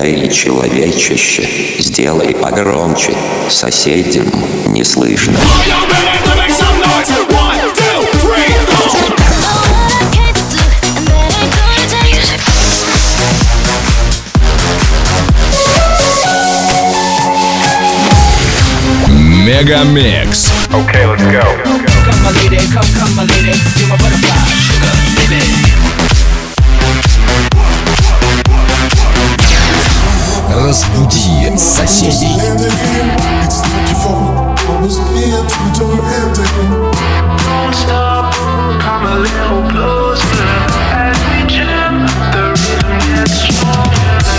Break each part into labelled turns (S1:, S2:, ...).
S1: Эй, человечище, сделай погромче, соседям не слышно.
S2: Мегамикс.
S3: Okay, let's go.
S4: Come my lady, come my lady, you're my butterfly, sugar, baby.
S2: Разбуди соседей.
S5: Don't stop, come a little closer. As we jam, the rhythm gets stronger.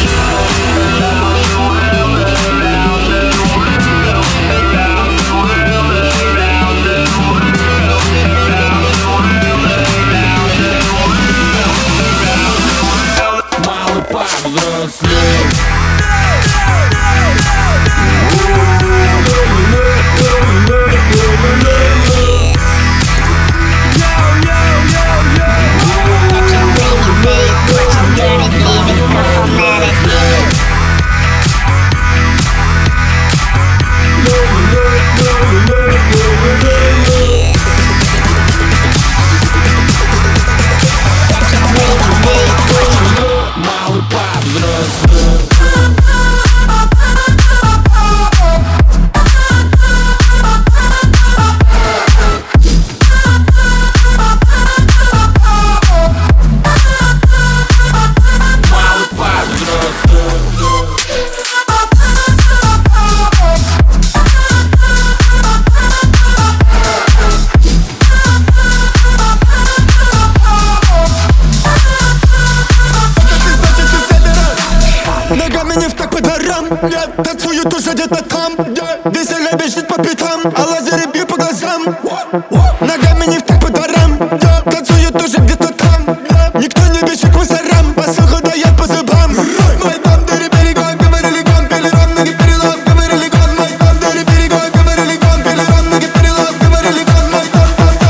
S6: Ногами не в так по дворам, танцуют уже где-то там, весело бежит по пятам, а лазеры бьют по глазам. Ногами не в так по дворам, танцуют уже где-то там, никто не бежит к мусорам, посуху дает по зубам. Мой дом, дыри берегом, говорили гон, пили ром, ноги перелом, говорили гон. Мой дом, дыри берегом, говорили гон, пили ром, ноги перелом, говорили гон. Мой дом,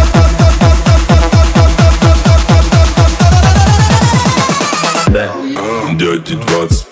S7: Дяди 25.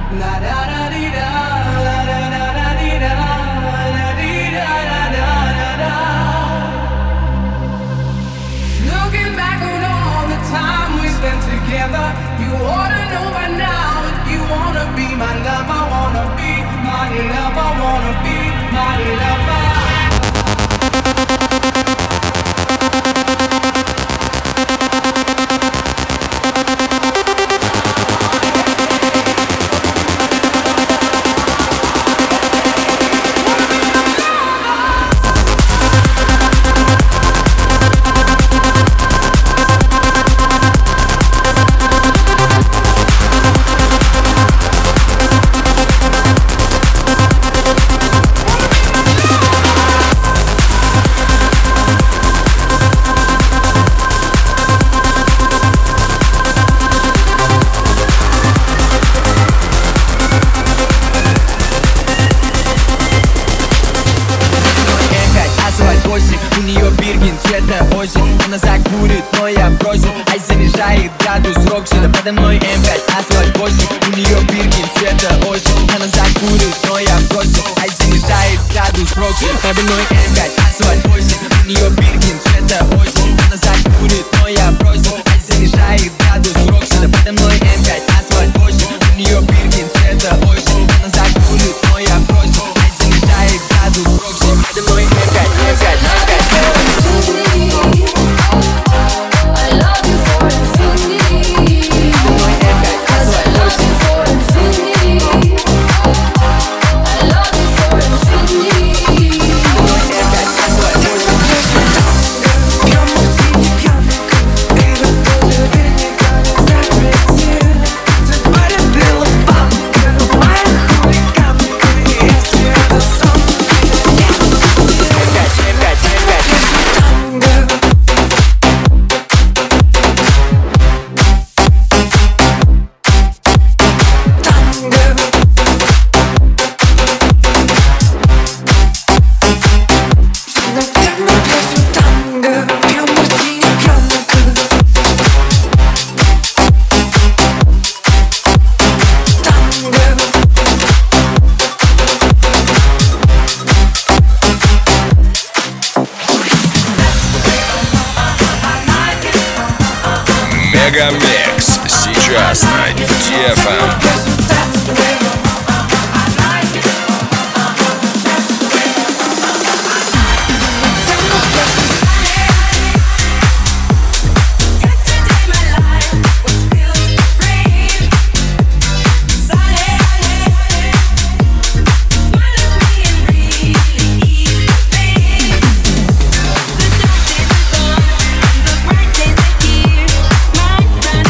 S3: Looking back on all the time we spent together, you ought to know by now if you wanna be my lover, wanna be my lover, wanna be my lover.
S4: У нее биркин, цвета осень. Она закурит, но я бросил. Ай, занижает градус Рокси. Да подо мной М5, асфальт 8. У нее биркин, цвета осень. Она закурит, но я бросил. Ай, занижает градус Рокси. Подо мной М5, асфальт 8. У нее биркин, цвета осень. Она закурит, но я бросил. Ай, занижает градус Рокси. Да подо мной М5, асфальт 8. У нее биркин, цвета осень. Она закурит, но я бросил. Ай, занижает градус Рокси. Подо мной М5, М5, М5.
S7: I love you for infinity. Cause I love you for infinity. I love you for infinity.
S2: Мегамикс сейчас на DFM.
S7: My sun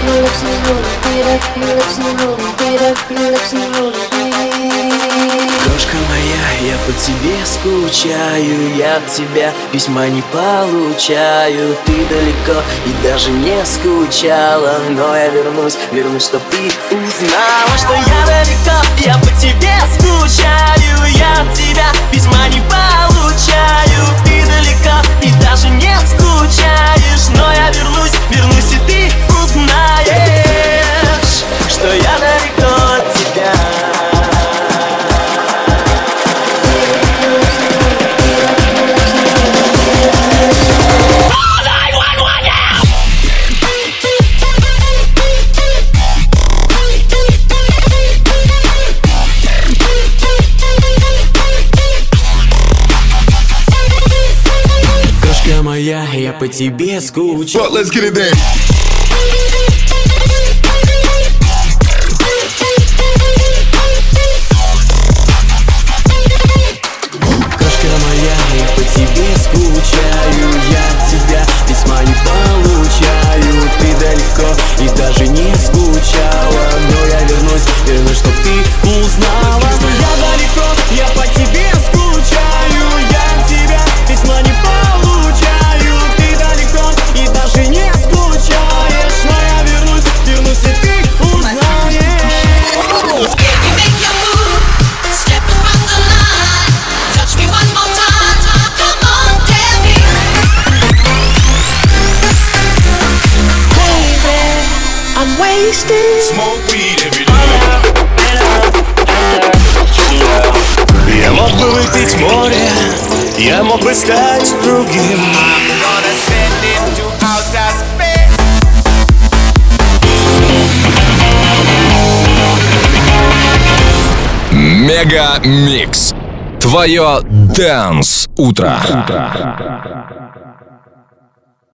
S8: Крошка моя, я по тебе скучаю, я от тебя письма не получаю. Ты далеко и даже не скучала, но я вернусь, чтоб ты узнала, что я далеко, я по тебе скучаю, я от тебя письма не получаю. Ты далеко и даже не скучаешь, но я вернусь, и ты узнаешь, что я далеко от тебя. Крошка моя, я по тебе скучаю.
S6: But let's get it in.
S8: Крошка моя, я по тебе скучаю, я от тебя письма не получаю. Ты далеко и даже не скучала, но я вернусь, чтоб ты узнала, что я далеко, я по тебе скучаю, я от тебя письма не получаю. Ты далеко и даже не скучаешь, но я вернусь, и ты узнаешь.
S2: Smoke weed every day.
S9: Я мог бы выпить море, я мог бы стать другим.
S2: Мега Микс. Твое Dance утро.